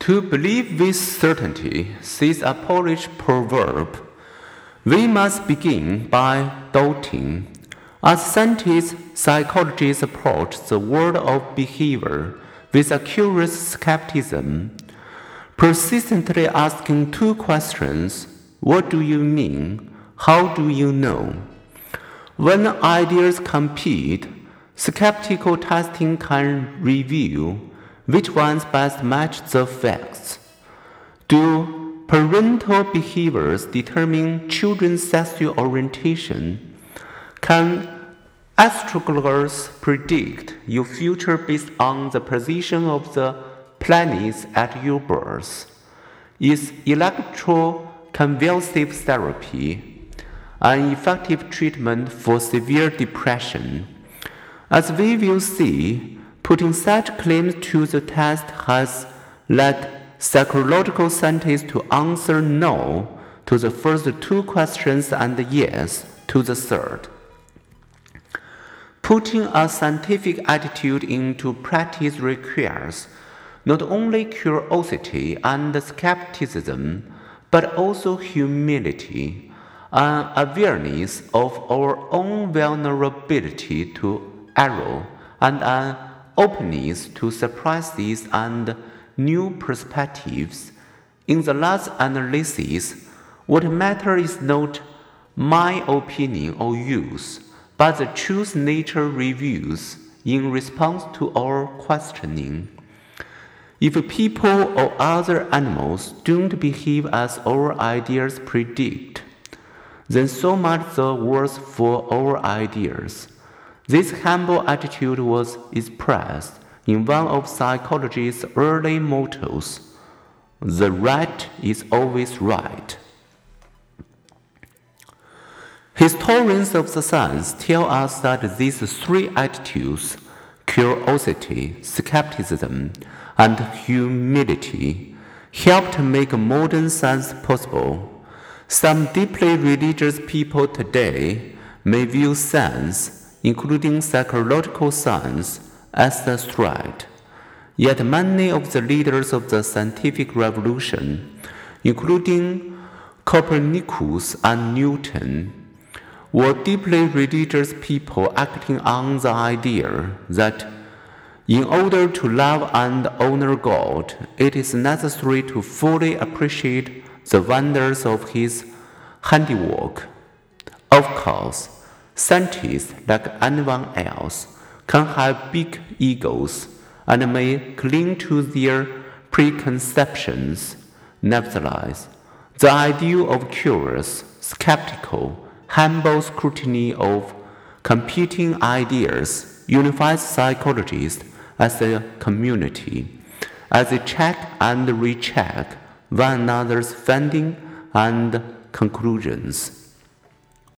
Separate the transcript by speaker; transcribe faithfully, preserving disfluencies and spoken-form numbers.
Speaker 1: To believe with certainty, says a Polish proverb, we must begin by doubting. As scientists, psychologists approach the world of behavior with a curious skepticism, persistently asking two questions: what do you mean? How do you know? When ideas compete, skeptical testing can reveal which ones best match the facts. Do parental behaviors determine children's sexual orientation? Can astrologers predict your future based on the position of the planets at your birth? Is electroconvulsive therapy an effective treatment for severe depression? As we will see, putting such claims to the test has led psychological scientists to answer no to the first two questions and yes to the third. Putting a scientific attitude into practice requires not only curiosity and skepticism, but also humility, an awareness of our own vulnerability to error, and an openness to surprises and new perspectives. In the last analysis, what matters is not my opinion or yours, but the truth nature reveals in response to our questioning. If people or other animals don't behave as our ideas predict, then so much the worse for our ideas. This humble attitude was expressed in one of psychology's early mottos: the right is always right. Historians of the science tell us that these three attitudes, curiosity, skepticism, and humility, helped make modern science possible. Some deeply religious people today may view science, including psychological science, as a threat. Yet many of the leaders of the scientific revolution, including Copernicus and Newton, were deeply religious people acting on the idea that in order to love and honor God, it is necessary to fully appreciate the wonders of His handiwork. Of course, scientists, like anyone else, can have big egos and may cling to their preconceptions. Nevertheless, the ideal of curious, skeptical, humble scrutiny of competing ideas unifies psychologists as a community, as they check and recheck one another's findings and conclusions.